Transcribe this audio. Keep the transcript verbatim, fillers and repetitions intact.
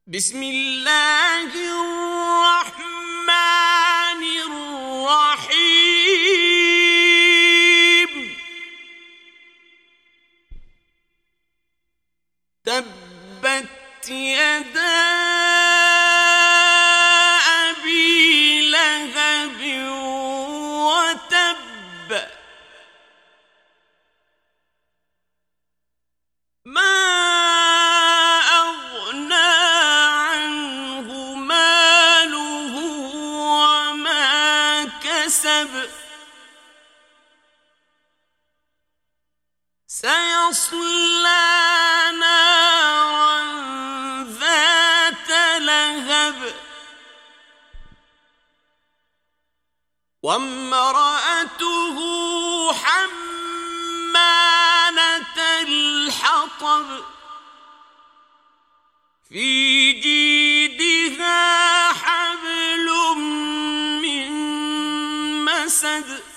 بسم الله الرحمن الرحيم تبت يدا أبي لهب وتب ما سيصلى نارا ذات لهب وامرأته حمالة الحطب في جيدها حبل من مسد